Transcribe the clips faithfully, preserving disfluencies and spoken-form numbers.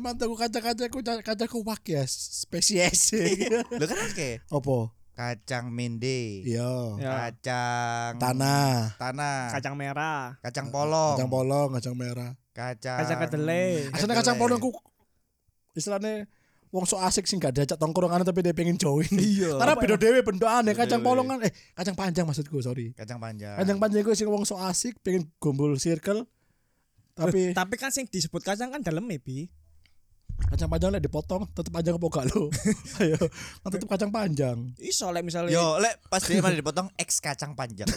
mantu kaca-kacaku kacaku wak ya spesies. Lho kan akeh. Opo? Kacang mende. Iya. Kacang Tanah. Tanah. Kacang merah. Kacang polong. Kacang polong, kacang merah. Kacang Kacang kedelai. Asline kacang polong ku istilahnya wong sok asik sing gak diajak tongkrongan tapi dia pengen join. Iya. Karena beda dhewe bentukane Beda kacang dhewe. polong kan eh kacang panjang maksudku, sorry. Kacang panjang. Kacang panjang ku sing wong sok asik pengen gombol circle. Tapi Tapi kan sing disebut kacang kan dalam maybe. kacang panjang lek dipotong tetep panjang apa gak lo? Ayo, kan tetep kacang panjang. Iso lek misalnya Yo, lek pas dia mana dipotong X kacang panjang.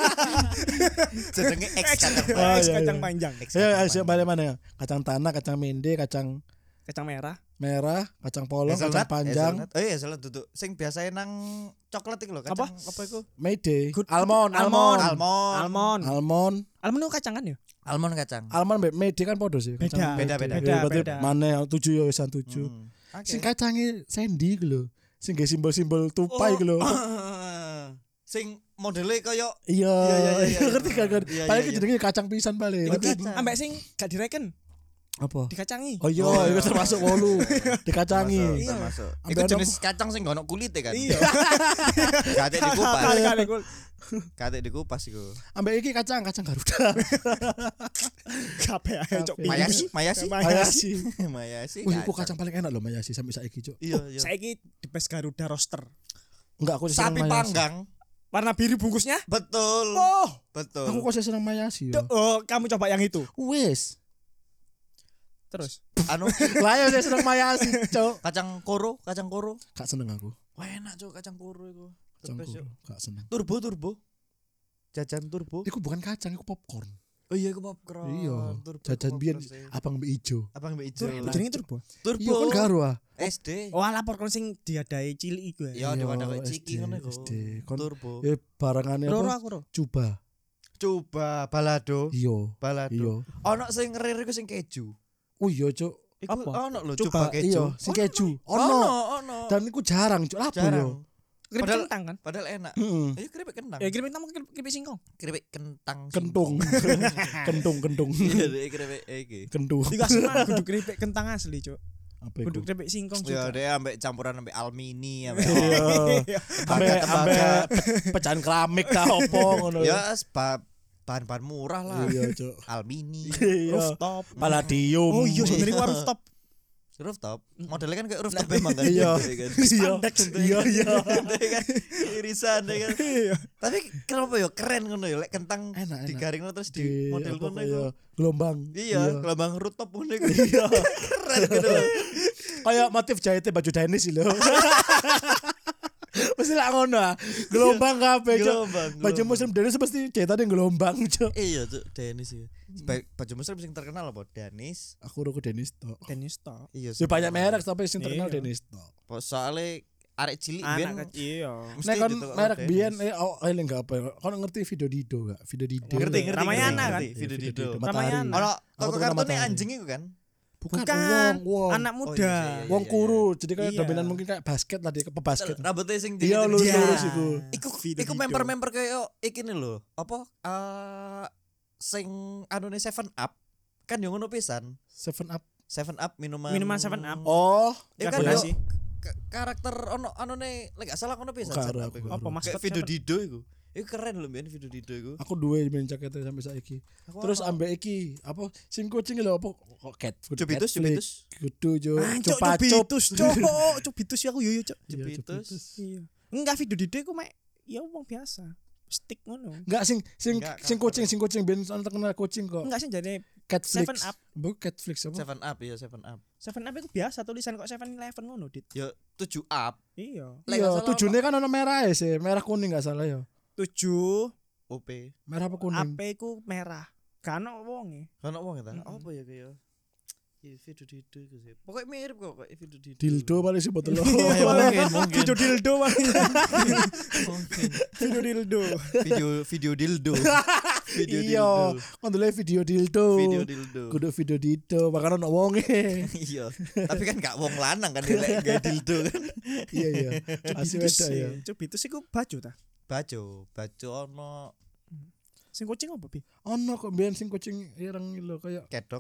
Jenenge X kacang Oh, panjang. X iya, kacang iya. panjang. X Ya, kacang ayo balik mana ya? Kacang tanah, kacang mende, kacang Kacang merah. merah, kacang polong, Hazelnut, kacang panjang, hazelnut. Oh iya, hazelnut duduk. Sing biasa nang coklat iku lho, kacang apa iku? mede, Good- almond, almond. almond, Almond. Almond. almond, Almond itu kacang kan ya? Almond kacang. almond mbek mede kan podo sih. Beda. Kacang Beda, mede. beda. Beda, berarti Beda. mana tujuh ya wisan tujuh. Hmm. Oke. Sing kacange Sandy iku lho. Sing ge simbol-simbol tupai iku lho. Sing modele kaya Iya, Iya, iya, iya, iya. ngerti kan? kan? Iya, Paling iya, iya. jenenge kacang pisan paling. Iku Ngerti? kacang. Ambek sing gak direken, Apa? dikacangi. Oh iya, Oh, itu iya. termasuk wolu. Dikacangi. Termasuk, Iya. termasuk. Ambil Iku ada jenis kacang sing gono kulite kan. Iya. Kate dikupas. Kali-kali gua Kate dikupas iku. Ambek iki kacang, kacang Garuda. kabeh ae cok. Kabeh. Mayasi, mayasi. Mayasi. Mayasi. Wih, kok kacang paling enak loh Mayasi sampai saiki, Cuk. Iya, iya. Saiki di Best Garuda roaster. Enggak, aku seneng Sapi Mayasi. panggang. Warna biru bungkusnya. Betul. Oh, Betul. Aku kok seneng Mayasi yo. oh, kamu coba yang itu. Wis. Terus. Anu Lah ya saya seneng Mayasi, Cuk. kacang koro, kacang koro. Gak seneng aku. Wah enak cok kacang koro iku. Kacang The best, kuru, Cuk. gak seneng. Turbo turbo. Jajan turbo. Iku bukan kacang, iku popcorn. Oh iya iku popcorn. Iya. Turbo, Jajan biyen popcorn sih. abang mbek ijo. Abang mbak ijo. Turbo jenenge turbo. Turbo. Iya kan karo ah. S D. Oh, ala popcorn sing diadai cilik iku ya. Iya di wadah kayak S D, ciki ngono iku. S D. Kon Turbo. eh barangane Loro apa? aku ro. Coba. Coba balado. Iya. Balado. Iya. Ono sing rir iku sing keju. Oh iya, Cuk. Iku Apa? ono lho Coba coba keju. iya, sing keju. Ono, Ono. ono. Dan iku jarang, Cuk. Lapo yo. Jarang. Keripik Padahal- kentang kan? Padahal enak. Heeh. Ayo keripik kentang. Ya keripik kentang mungkin keripik singkong. Keripik kentang. Kentung. Kentung, kentung. Iya deh keripik iki. Kentung. Iku asma kudu keripik kentang asli, Cuk. Apa Kudu iku? keripik singkong Ya juga. deh ambek campuran ambek almini ambek Iya. Ambe ambe tembaga. pe- pecahan keramik ta opo ngono. ya sebab bahan-bahan murah lah. Iya, Cuk. Almini, Iya. Rooftop. Palladium. Oh iya sebenarnya gua rooftop. rooftop. Modelnya kan kayak rooftop memang kan. Iya. Gitu kan. Iya. Spandex. Iya, iya. Gitu kan. Irisan ya kan. Iya. Tapi kenapa ya keren ngono ya lek kentang Enak, enak. digaring terus di, Di model apa, ngono iya, iku. gelombang. Iya, gelombang rooftop ngono iku. Iya. Keren gitu. loh. Kayak motif jahitnya baju Dennis sih lho. Mesti lah ngono ah. Gelombang kabeh, Cuk. Gelombang. Baju gelombang. muslim Dennis mesti jahitane gelombang, Cuk. Iya, Cuk, Dennis ya. Ba- Baju muslim sing terkenal apa? Dennis. Aku ruku Dennis tok. Tenis tok. Iya. Ya banyak merek tapi sing terkenal Iya. Dennis tok. Soalnya arek cilik biyen Anak kecil. iya. mesti Nek kon ditukar merek Dennis. biyen eh oh eling gak apa. Kon ngerti video Dido gak? Video Dido. Ngerti, ngerti. Ramayana ngerti, kan? ngerti. Video Video Dido. Dido. Ramayana. Matahari. Ono Aku toko tuh kartune Matahari. anjing iku kan? Bukan, Bukan. wong, wong. Anak Oh, muda. iya, iya, iya. Wong kuru, jadi kayak Iya. dominan mungkin kayak basket lah dia ke pebasket. Rambutnya sing Iya, dingin- lurus Iya. lurus iku. Iku Video iku Dido. member-member kayak iki nih lho. Apa? Eh sing anune Seven Up kan yo ngono pisan. Seven Up. Seven Up minuman Minuman Seven Up. Oh, Iku kan Karbonasi. yo ka- karakter ono anune lek gak salah ngono pisan. Karo, Seven Up aku iku. karo. Apa maskot Kayak video Seven? Dido iku. Iku keren lho men video Dido iku. aku duwe main jaketnya sampai saiki. Aku Terus ono. ambek iki apa sing kucing lho apa kok cat food. Cubitus, Catflix. Cubitus. Kudu jo. Ah, cuk, Cupa cup. cubitus, cuk. Cubitus ya aku yo yo, cuk. Iya, Cubitus. Iya. Enggak video Dido iku mek ya wong biasa. Stick ngono. Enggak sing sing Enggak, sing cover. kucing sing kucing ben soal terkenal kucing kok. Enggak sih jadi Catflix. Seven Up. Bu Catflix apa? Seven Up ya Seven Up. Seven Up itu biasa tulisan kok Seven Eleven ngono, Dit. Yo tujuh up. Iya. Lek Iya, gak salah tujuhnya kan ono merah ya sih, merah kuning gak salah ya. Tujuh O P. Merah apa A kuning? P ku merah. Kan ono wonge. Kan wong ta? Mm-mm. Apa ya kayak Iya, video Dido iku sih. Pokoknya mirip kok kayak video Dido. Dildo paling sih botol. Iya, mungkin, mungkin. Video dildo paling. Mungkin. Video dildo. Video video dildo. Video Iya, dildo. kan dulu video dildo. Video dildo. Kudu video dildo, makanya ono wonge. Iya. Tapi kan gak wong lanang kan dia lek gawe dildo kan. Iya iya. Asli Cubitus beda ya. sih. Cubitus iku baju ta. Baju, baju ono Sing kucing apa, Bi? Ono kok biyen sing kucing ireng lho kayak kedok.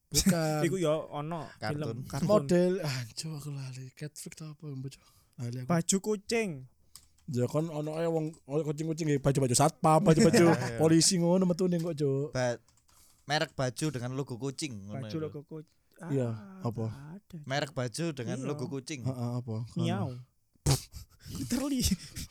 Bukan. Iku ya ono Kartun. film kartun. Model anjo aku lali. Cat flick ta apa bocah. Lali aku. Baju kucing. Ya kon ono ae wong kucing-kucing nggih baju-baju satpam, baju-baju polisi ngono metune kok, Cuk. Ba- merek baju dengan logo kucing ngono Baju itu. logo kucing. Iya, apa? Ada. Merek baju dengan Iya. logo kucing. Heeh, apa? Miau. Literally.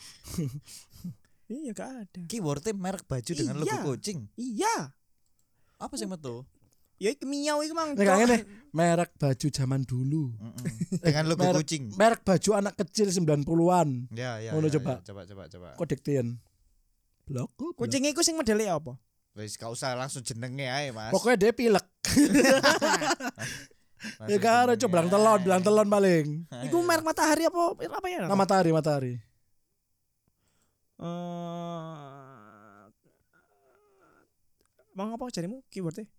Iya gak ada. Keywordnya merek baju dengan logo Iya. kucing. Iya. Apa sih metu? Ya iku miau iku mang. Nek Cok. ngene, merek baju zaman dulu. Mm-mm. Dengan logo merek- kucing. Merek baju anak kecil sembilan puluhan. Ya ya. Ngono ya, coba. ya. Coba coba coba. Kok diktin? Blok. blok. Kucing iku sing modele apa? Wis gak usah langsung jenenge ae, Mas. Pokoknya dia pilek. Langsung Ya karo jenenge coba belang ae. telon, belang telon paling. Iku merek matahari apa apa ya? Nah, matahari, matahari. Eh Mang apa jarimu keywordnya?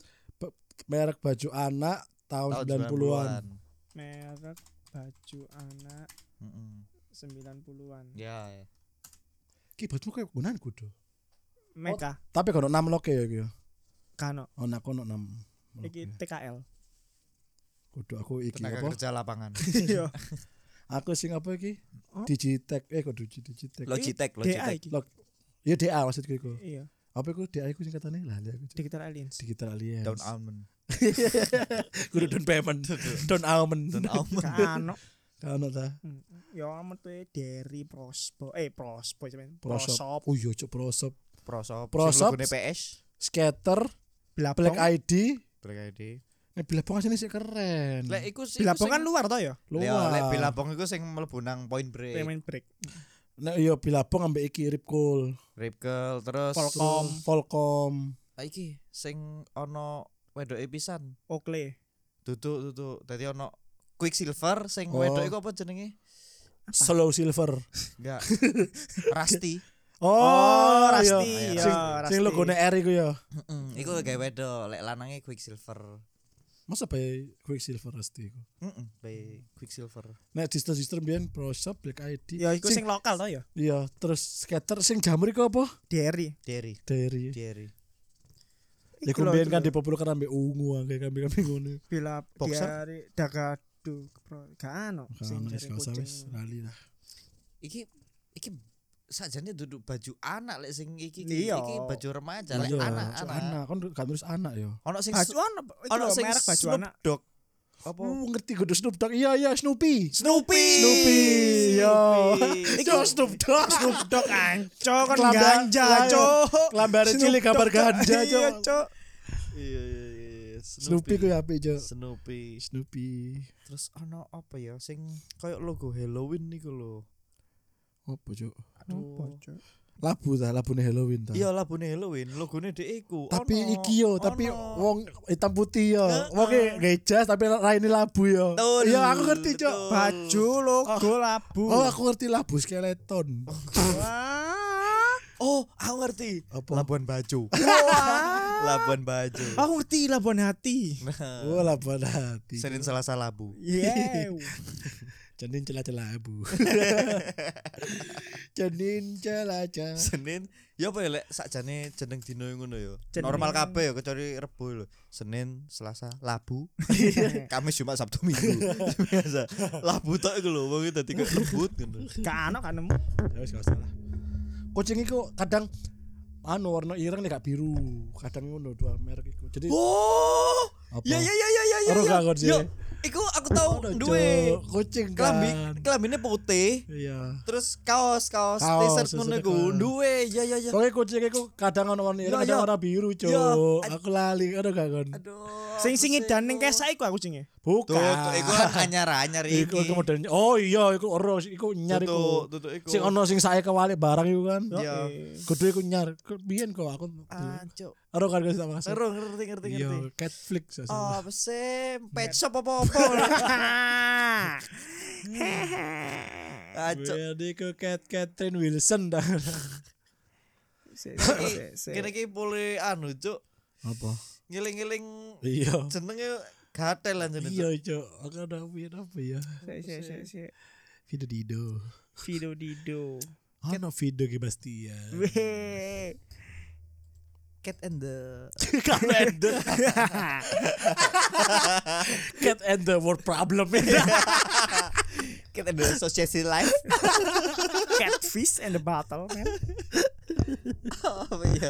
Merek baju anak tahun Tahun sembilan puluhan. Merek baju anak Mm-mm. sembilan puluhan. Ya. ya. Ki baju kayak gunaan kudu. Meka Tapi kalau enam loke ya ki. kano. Oh, nak kono enam. Iki T K L. Kudu aku iki Tenaga apa? kerja lapangan. Iya. Aku sing apa iki? Oh. Digitech. Eh kok Digi- Digitech. Logitech, D A Logitech. iki. Log- Ya D A maksudku iku. Iya. Apa iku D A iku singkatane? Lah, aku Digital Aliens. Digital Alliance. Down almond. Kudu down payment. Down almond. Down almond. Kano. Kano ta? Hmm. Ya metu dari Prospo. Eh Prospo cuman. Prosop. Prosop. Oh iya, cuk prosop. Prosop. Prosop. Sing logone P S. Skater, Bilabong. Black I D. Black I D. Nek Bilabong asine sih keren. Lek iku sih. Bilabong kan luar toh ya? Ya, lek luar. Bilabong iku sing mlebu nang Point Break. Pemain break. Nek iya Bilabong ambek iki Rip Cool. Rip Curl terus Volcom. Terus Volcom. Ah, iki sing ono wedoke pisan. Oakley. Duduk duduk. Dadi ono Quicksilver sing Oh. wedoke iku apa jenenge? Slow Silver. Enggak. Rusty. Oh, Rusty. iya. Ya, Sing, Rusty. sing logone R iku ya. Heeh. Iku gawe wedok, lek lanange Quicksilver. Masa bae Quicksilver Rusty iku. Heeh, bae Quicksilver. Nek distro-distro mbiyen Prosop, Black I D. Ya iku sing lokal toh ya? Iya, terus skater sing jamur iku apa? Derry. Derry, Dari. Derry. Ya Iku lho, kumbiyen iku kan lho. dipopulerkan ambek ungu angke kambing-kambing ngono. Bila Boxer? dari Dagadu Pro. Gak ano sing Kan wis jaring gak usah kucing. wis lali lah. Iki iki sakjane duduk baju anak lek sing iki Iya. iki baju remaja lek Iya, anak cuk, anak. anak kan gak terus anak ya. Ono sing Baju ano? Iku ono lho, sing merek baju Snoop anak. Dogg. Apa? Oh, ngerti kudu Snoop Dogg. Iya, iya Snoopy. Snoopy. Snoopy. Yo. Iku Iku Snoop Dogg. Snoop Dogg anco kan Kelambar- ganja lah, iya. cok. Kelambare Snoop cilik gambar Dogg, ganja, Iya Cok. cok. Iya iya iya. Snoopy ku ya apik, Cok. Snoopy. Snoopy. Terus ono apa ya sing koyo logo Halloween niku lho. Apa, Cok? Apa cok? Labu ta, labune Halloween ta. Iya labune Halloween, logone dhek iku. Tapi Ono, iki yo, tapi ono. wong hitam putih yo. Heeh. Wonge ngejas tapi raine labu yo. Betul, Iya, aku ngerti, Cok. betul. Baju logo labu. Oh, aku ngerti labu skeleton. Wah. Oh, aku ngerti. Apa? Labuan Bajo. Wah. Labuan Bajo. Aku ngerti Labuan Hati. Oh, labu hati. Senin Selasa Labu. Yeah. Janin celah-celah abu. Janin celah-celah. Senin ya apa ya lek sakjane jeneng dino ngono ya. Jeneng- Normal kabeh ya kecuali Rebo lho. Senin, Selasa, Labu. Kamis, Jumat, Sabtu, Minggu. Biasa. Labu tok iku lho wong dadi kok rebut ngono. Gak ano kan nemu. Ya wis gak salah. Kucing iku kadang anu warna ireng nek gak biru. Kadang ngono dua merek iku. Jadi Oh, apa? ya ya ya ya ya ya. Ora ya. gak sih. Yo, iku aku tahu Ono, duwe Cok. kucing kelambi, kan. kelambine putih. Iya. Terus kaos kaos Kaos, t-shirt ngono iku t-shirt, duwe ya ya ya. Pokoknya kucing iku kadang ono warna ireng, Ya, kadang ya. warna biru, Cuk. Ya. Aku lali, ada gak kon? Aduh. Sing sing aku edan ning sih, kesa iku aku cinge. Bukan. Tuh, tuh, iku kan anyar-anyar iki. Iku iku modelnya. Oh iya, iku ero, iku nyar Tuh, iku. tuh, tuh, iku. Sing ono sing sae kewalik barang iku kan. Iya. Kudu iku nyar. Biyen kok aku. Ah, cuk. Ero kan gak sama. Seru ngerti ngerti Iya, ngerti. Catflix ya. Oh, apa sih? Pet shop apa-apa. Ah, cuk. Jadi ke Cat Catherine Wilson dah. Kene iki boleh anu, cuk. Apa? Ngiling-ngiling Iya. jenenge gatel anjene. Iya, Cok. Aku ada piye apa ya? Sik sik sik. Video Dido. Video Dido. Ano video ki Bastian. Weh. Cat and the Cat and the Cat and the world problem. Cat and the Association Life. Catfish and the Battle, man. Oh iya.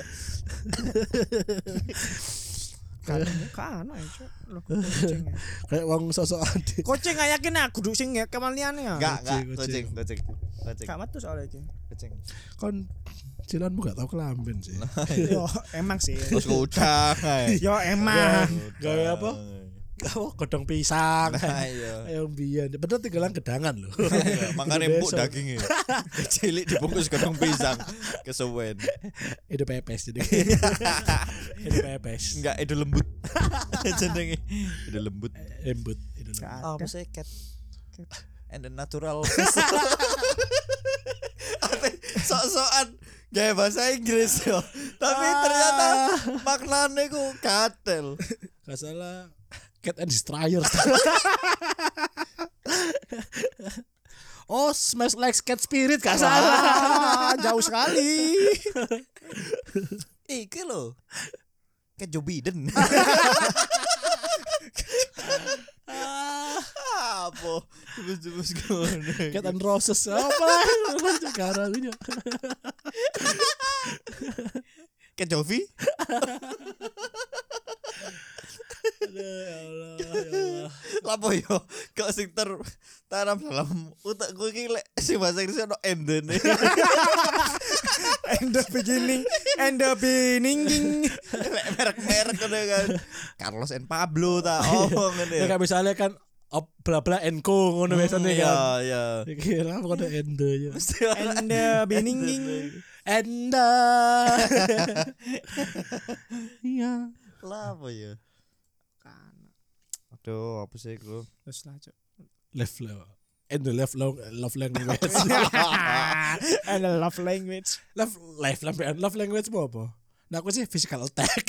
Kan kan aja lo kucing. Kayak wong sosokan. Kucing gak yakin aku duduk sing ya kemalian ya. Enggak, enggak, Kucing, kucing, kucing. Kucing. Gak metu soalnya iki. Kucing. Kon cilanmu gak tau kelamben sih. Yo emang sih. Terus udang. Yo emang. Gawe apa? Oh, godong pisang. Nah, iya. Ayo mbiyen. Bener tinggalan gedangan lho. Makane Kudu empuk besok. dagingnya. Cilik dibungkus godong pisang. Kesuwen. Itu pepes jadi. Itu pepes. Enggak, itu lembut. Jenenge. Itu lembut. Embut. Itu lembut. Gak Oh, ada. maksudnya cat. And the natural fish. Ate sok-sokan gaya bahasa Inggris yo. Tapi ternyata maknane ku gatel. Gak salah. Cat and Destroyer. Oh, smash like cat spirit gak salah. Ah, jauh sekali. Iki lho. Cat Joe Biden. Apa? Jebus-jebus ngono. Cat and Roses. Apa? Sekarang ini. Cat Jovi. Aduh, ya Allah, ya Allah. Lapo yo kok sing ter tanam dalam otakku iki lek sing bahasa Inggris ono endene. And the beginning and the beginning. Lek merek-merek ngono kan. Carlos and Pablo ta omong ngene. Ya kayak misalnya kan op bla bla and co ngono biasanya Iya, kan. iya. Kira apa kode ende ya. And the beginning. Enda. Iya. Lah apa ya? Aduh, apa sih lu? Terus lah, Cuk. Left love. And the left love, love language. And the love language. love life love, love language mau apa? Nah aku sih physical attack.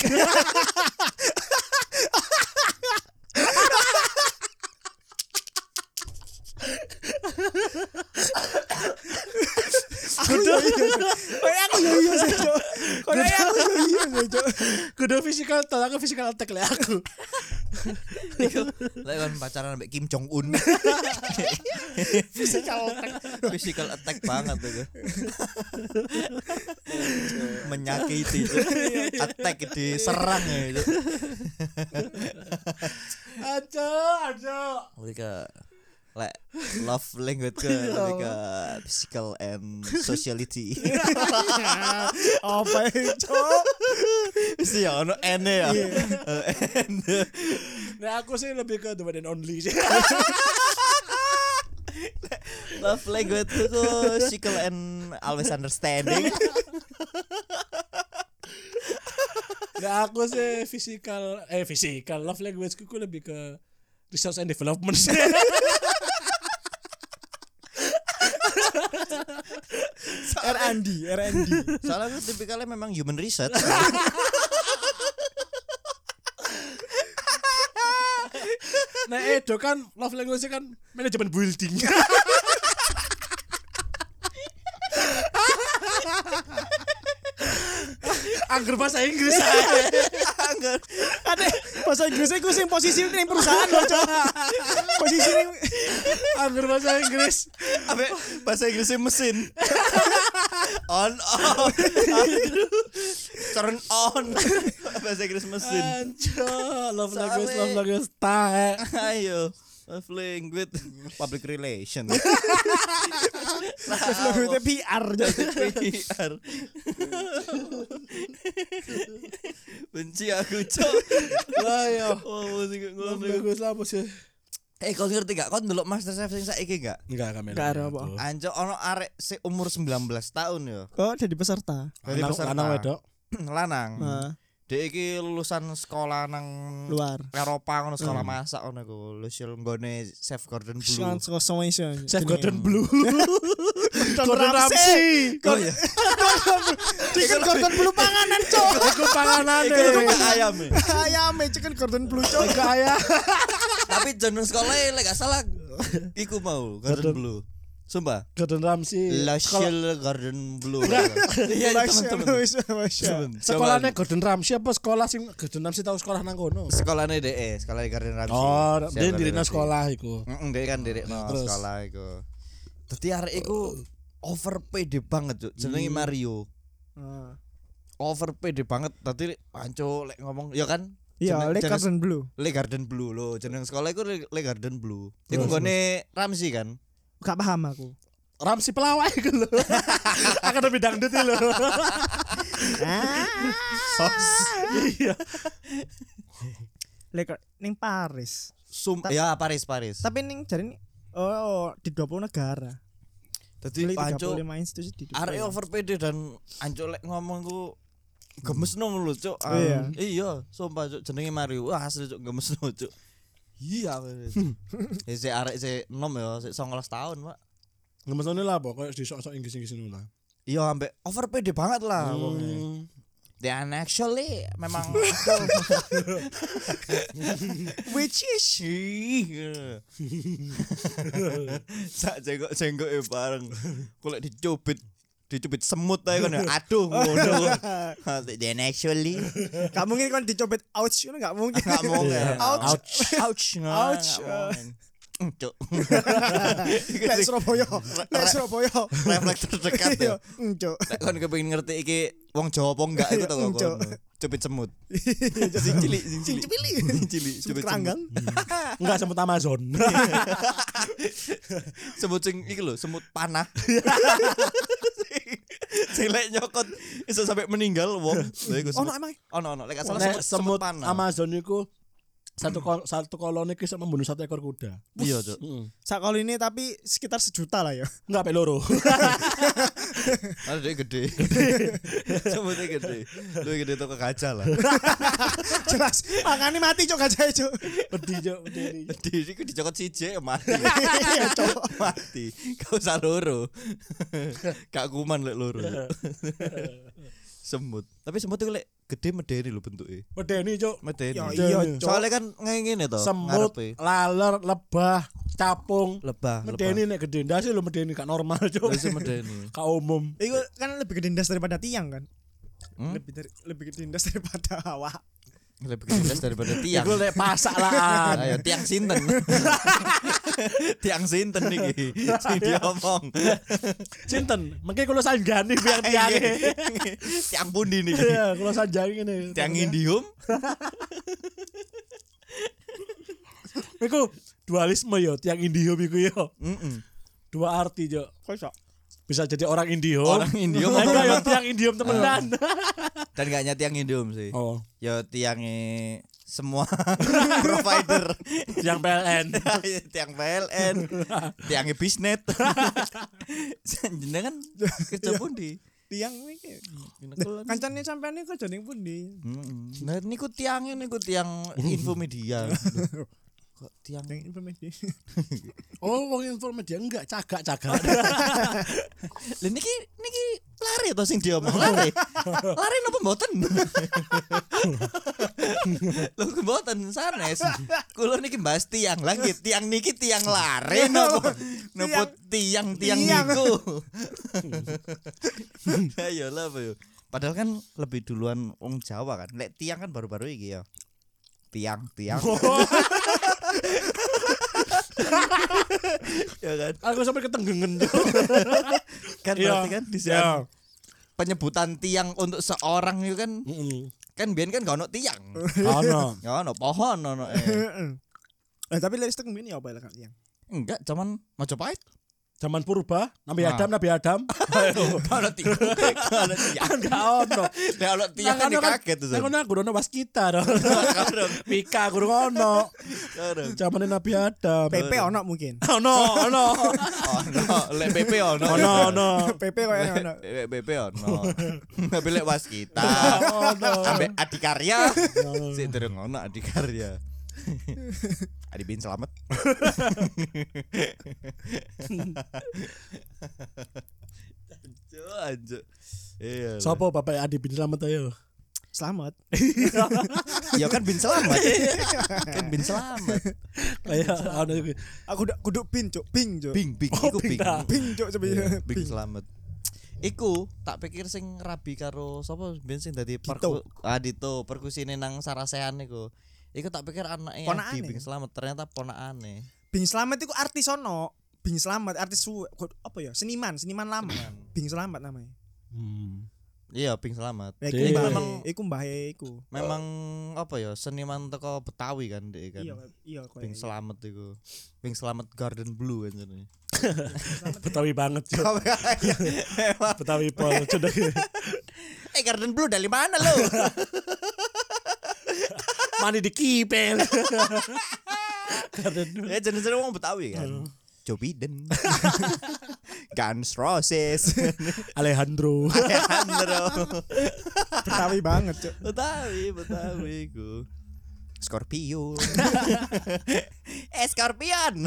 Kudu kayak aku yo iya sih, Cuk. Kayak aku yo iya sih, Cuk. Kudu physical attack, aku physical attack lah aku. Iku lek kan pacaran mbek Kim Jong Un. Physical attack. Physical attack banget tuh. Menyakiti itu. Attack diserang ya itu. Aja, aja. Mereka like love language ke mereka physical and sociality. Apa itu, Cuk? Mesti ya ono ene ya. And Nah aku sih lebih ke the one and only sih. love language itu physical and always understanding. Nah aku sih physical, eh physical love language ku lebih ke research and development. R and D, R and D. Soalnya aku tipikalnya memang human research. Nah Edo kan love language kan manajemen building. Angger bahasa Inggris aja. Angger. Ade bahasa Inggrisnya ku sing posisi ning perusahaan lho, Cuk. Posisi ning Angger bahasa Inggris. Abe bahasa Inggrisnya mesin. On off. Turn on. Bahasa Inggris mesin. Anjo, love Soalnya- language, love language tae. Ayo. Love language public relation. language P R. P R. Benci aku, Cok. Lah yo. Oh, musik Love ngono. language apa sih? Eh, kau ngerti gak? Kau ndelok Masterchef sing saiki gak? Enggak kami. Nggak ada apa. Anjo ono arek se umur sembilan belas tahun yo. Oh, jadi peserta. Dari Lanang peserta. lanang wedok. Lanang. Nah, Dek iki lulusan sekolah nang luar. Eropa ngono sekolah masak ngono iku. Lusul nggone Chef Gordon Blue. Sean Sosong iso. Chef Gordon Blue. Gordon Gordon Ramsay. Oh iya. Chicken Gordon Blue panganan, Cuk. Iku panganane. Iku lebih ke ayam ya. Ayam chicken Gordon Blue, Cuk. Iku ayam. Tapi jeneng sekolah lek gak salah iku mau Gordon Gordon. Blue. Sumpah. Gordon Ramsay. Lachelle Garden Blue. Enggak. Iya teman-teman. Sekolahnya Gordon Ramsay apa sekolah sing Gordon Ramsay tahu sekolah nang kono? Sekolahnya D E, sekolah Garden Ramsay. Oh, Siap, dia Garden dirina Ramsay. sekolah iku. Heeh, dia kan direkno Terus? sekolah iku. Dadi arek iku over pede banget, Cuk. Jenenge Hmm. Mario. Ah. Over pede banget. Dadi panco lek ngomong ya kan Iya, jeneng- Le jeneng- Garden Blue. Le Garden Blue lo, jeneng sekolah iku Le, Le Garden Blue. Iku Terus, gone Ramsey kan. Gak paham aku. Ramsay pelawak iku lho. Akademi dangdut iki lho. Iya. Le Gar- ning Paris. Sum Ta- ya Paris Paris. Tapi ning jare ini oh, di dua puluh negara. Dadi Di panco tiga puluh lima institusi di dua puluh. arek over pede dan anco lek ngomong ku gemesno lho, Cuk. Ah, Iya. Iya, sumpah Cuk, jenenge Mario. Wah, asli Cuk gemesno, Cuk. Iya. Ya si arek si enom ya, si sembilan belas tahun, Pak. Ngemesone lah apa koyo di sok-sok Inggris-Inggris ngono lah. Iya, ambek over pede banget lah Hmm. wonge. Dan actually memang Which is sak jenggot-jenggot e bareng. Kok lek dicubit dicubit semut ae kan ya. Aduh ngono. Dan actually gak mungkin kan dicopet ouch ngono gak mungkin. enggak mau Iya. ouch ouch Ouch. Cuk. Lek Surabaya, lek Surabaya. Refleks terdekat ya. Encuk. Nek kon kepengin ngerti iki wong Jawa apa enggak iku to kok. Cuk. Cubit semut. Sing cilik, sing cilik. Sing cilik. Sing cilik, Semut cubit keranggang. semut. Enggak semut Amazon. Semut sing iki lho, semut panah. Sing lek nyokot iso sampai meninggal wong. Lha iku Oh, semut. no emang. Ono ono lek gak salah Nek semut, semut semut panah. Amazon iku satu kol satu koloni bisa membunuh satu ekor kuda. Iya, Cuk. Heeh. Sakal ini tapi sekitar sejuta lah ya. Enggak pe loro. Ada dia gede. Semutnya gede. Lu gede tuh ke kaca lah. Jelas. Mangane mati cok gajah cok. Pedih jo, pedih. Diri ku dicokot siji mati. Iya cok. Mati. Kau usah loro. Kak kuman lek loro. Semut. Tapi semut itu lek gede medeni lho bentuknya. Medeni cuk. Medeni. Ya Medeni. iya cok. Soalnya kan ngene to. Semut, ngarepe. laler, lebah, capung. Lebah. Medeni nek gede ndase lho medeni gak normal cuk. Wis medeni. Gak umum. Iku kan lebih gede ndas daripada tiang kan. Hmm? Lebih dari lebih gede ndas daripada awak. Lebih gede daripada tiang. Iku lek pasak lah. Ayo tiang sinten. Tiang sinten iki. Sing diomong. Sinten? Mengke kula sanjani tiang-tiange. Tiang pundi niki? Iya, kula sanjani ngene. Tiang Indium. Iku dualisme yo, tiang Indium iku yo. Heeh. Dua arti jo. Kok iso? Bisa jadi orang Indium. Orang Indium Enggak yo tiang Indium temenan. dan gak nyati tiang Indium sih. Oh, Ya tiangnya semua provider. tiang P L N. Tiang P L N, tiangnya Bisnet. Jenengan kerja pundi? Tiang iki. Kancane sampean iki kerja ning pundi? Heeh. Nah niku tiangnya niku tiang Infomedia. Kok tiang Yang informasi. Oh, wong Infomedia enggak cagak-cagak. Lha niki niki lari to sing diomong lari. Lari napa mboten? Lho mboten sanes. Kulo niki bahas tiang langit, tiang niki tiang lari napa napa tiang-tiang Tiang. niku. Ayo lah Pak. Padahal kan lebih duluan wong Jawa kan. Lek tiang kan baru-baru iki ya. Tiang, tiang. Ya kan? Aku sampai ketenggengen jo. Kan Iya. berarti kan di Iya. sana penyebutan tiang untuk seorang itu kan Heeh. kan biyen kan gak ono tiang. Ono. Ya ono pohon ono eh. Eh tapi listrik mini apa lah tiang? Enggak, cuman Majapahit. Zaman purba, Nabi Nah. Adam, Nabi Adam. Gak ono tiang. Gak ono tiang. Enggak ono. Nek ono tiang kan kaget tuh. Nek ono guru ono waskita dong. Kadang, Mika guru ono. kadang. Zaman Nabi Adam. P P ono mungkin. Ono, ono. Ono, lek B P ono. Ono, ono. P P koyo ono. Lek B P ono. Tapi lek waskita. Ono. Ambek adikarya. Sik durung ono adikarya. Adi bin selamat. Anjo, anjo. Iya. Sopo Bapak Adi bin Slamet ayo. Selamat. Ya kan bin selamat. Kan bin selamat. Kayak ana iki. Aku udah kudu pin, Cuk. Ping, Cuk. Bing bing Oh, iku bing bing. dah. Ping, Cuk, sebenarnya. Bing selamat. Iku tak pikir sing rabi karo sapa ben sing dadi perku ah Dito perkusine nang Sarasehan iku. Iku tak pikir anake Ponakane. Adi Bing Selamat ternyata ponakane. Bing Selamat itu artis ono. Bing Selamat artis su- apa ya? Seniman, seniman lama. Seniman. Bing Selamat namanya. Hmm. Iya Bing Selamat. Ya, Dek. iku mbahe, Memang- iku mbahe iku. Memang apa ya seniman teko Betawi kan dek kan. Iya, iya kowe. Bing Selamat iku. Bing Selamat Garden Blue kan jenenge. Betawi banget, Cuk. Betawi pol sudah. Eh Garden Blue dari mana lo? Mani di kipel. Karena Ya jenis-jenis wong Betawi kan. Joe Biden. Guns Roses. Alejandro. Alejandro. Betawi banget, Cuk. Betawi, Betawi ku. Scorpio. eh Scorpion.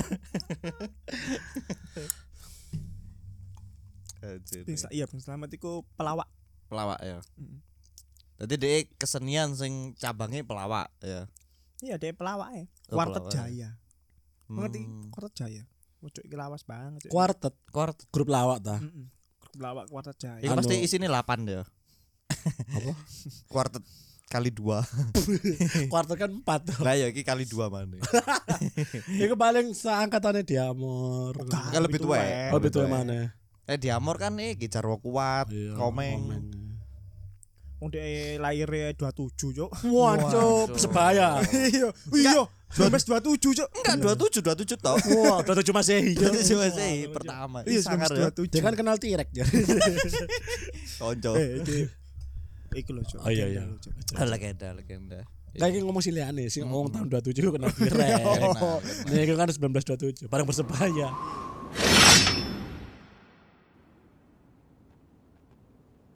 Bing Sel- iya, Bing Selamat iku pelawak. Pelawak ya. Mm. Jadi dia kesenian sing cabangnya pelawak ya. Iya, dia pelawak ya. Oh, Wartet pelawak. Jaya. Mengerti? Hmm. Wartet Jaya. Cuk iki lawas banget, Cuk. Kuartet, Kuart. grup lawak ta. Heeh. Pelawak Wartet Jaya. Ini Anu- pasti isinya delapan ya. Apa? Kuartet kali dua. Kuartet kan empat. Lah ya iki kali dua mana? Iku paling seangkatannya Diamor. Enggak, Kan lebih tua. tuwek. Oh, betul mana? Eh Diamor kan nih Jarwo kuat, Iya, komeng. Wong dhek lahirnya dua puluh tujuh, Cuk. Waduh, Waduh. sebaya. Iya, iya. dua belas dua puluh tujuh, Cuk. Enggak dua puluh tujuh, dua puluh tujuh tau. Wah, dua tujuh Masehi. Dua puluh tujuh masih pertama. Iya, Sangar dua ya. belas dua puluh tujuh. Dia kan kenal Tirek ya. Konco. Eh, iki. Iki lho, Cuk. Oh iya iya. Legenda lho, Cuk. Ah, legenda, legenda. Kayak iki ngomong siliane sing ngomong tahun dua puluh tujuh kenal Tirek. Enak, enak. Nih kan sembilan belas dua puluh tujuh, bareng Persebaya.